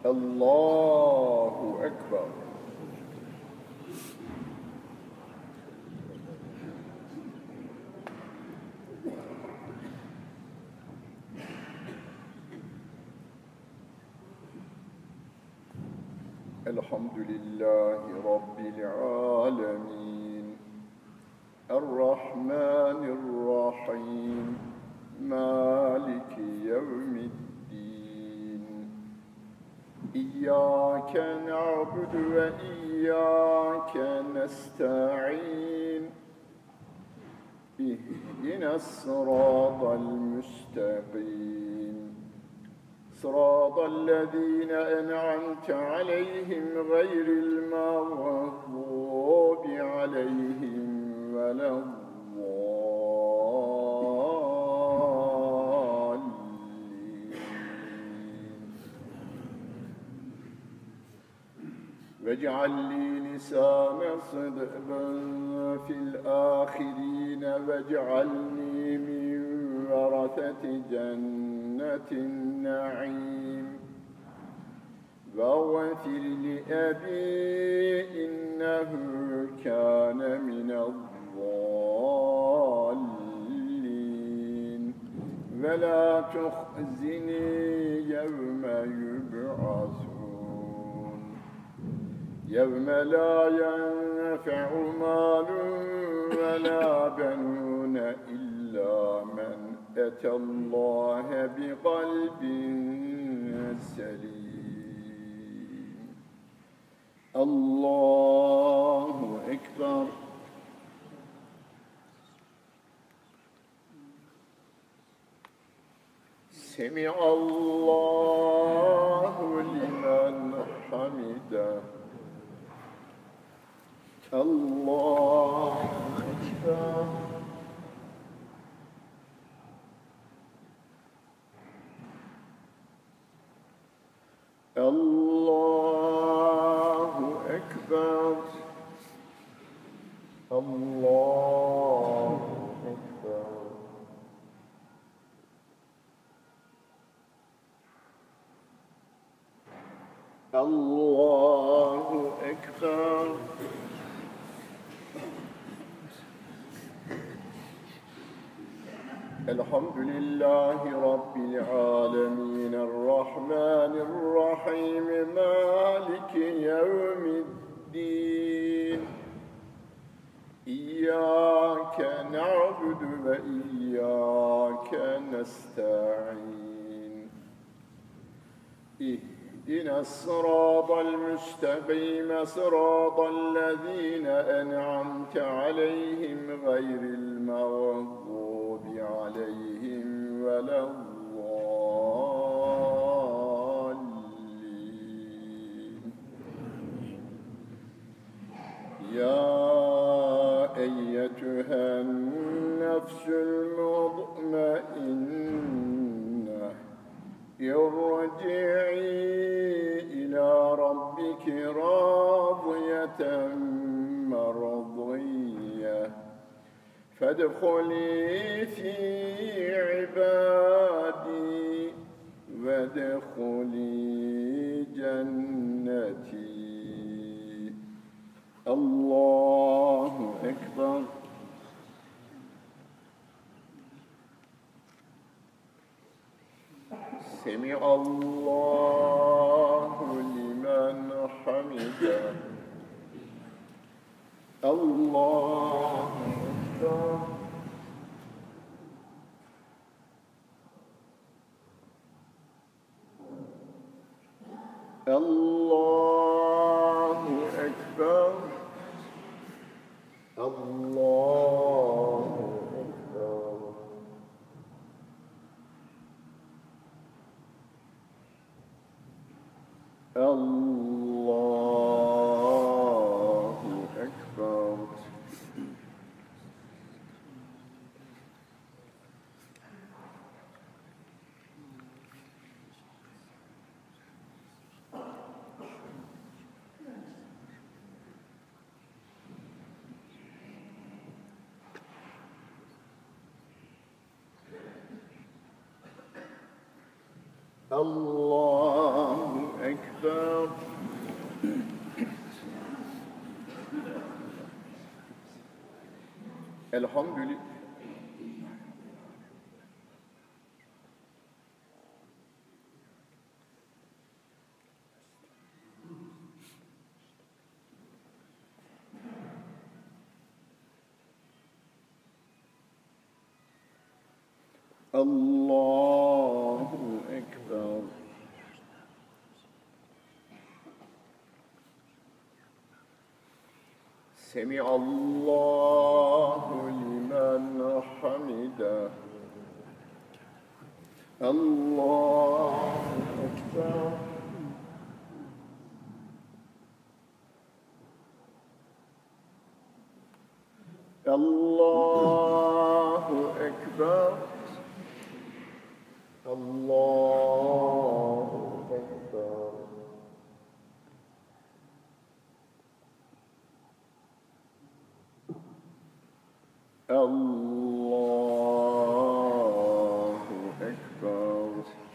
الله أكبر. الحمد لله رب العالمين الرحمن الرحيم مالك يوم الدين إياك نعبد وإياك نستعين اهدنا الصراط المستقيم صراط الذين أنعمت عليهم غير المغضوب عليهم ولا الضالين. واجعل لي لسان صدق في الآخرين واجعلني من ورثة جنة النعيم واغفر لأبي إنه كان من الضالين ولا تخزني يوم يبعثون يوم لا ينفع مال ولا بنون إلا من أتى الله بقلب سليم. الله أكبر. سمع الله لمن حمده. الله أكبر. الله أكبر. الله أكبر. الله أكبر. الحمد لله رب العالمين الرحمن الرحيم مالك يوم الدين إياك نعبد وإياك نستعين اهدنا الصراط المستقيم صراط الذين أنعمت عليهم غير المغضوب عليهم ولا الضالين. يا أيتها النفس المطمئنة ارجعي إلى ربك راضية مرضية فادخلي في عبادي وادخلي جنتي. الله أكبر. سمع الله لمن حمده. الله أكبر. الله أكبر. الله أكبر. الله أكبر. الله أكبر. Elhamdülillah. Allahu Ekber. Semiallahu limen hamide. Allahu Ekber. Allahu Ekber. Allahu Ekber. Allahu Ekber.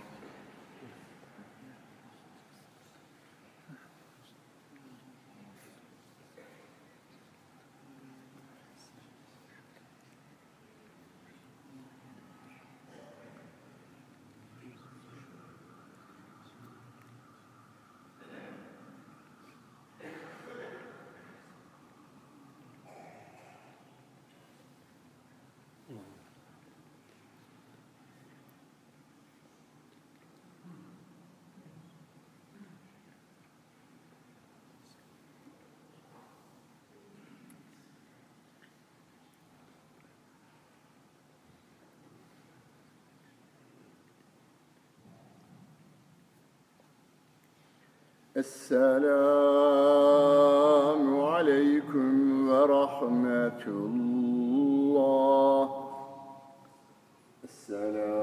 Esselamu aleyküm ve rahmetullah. Esselamu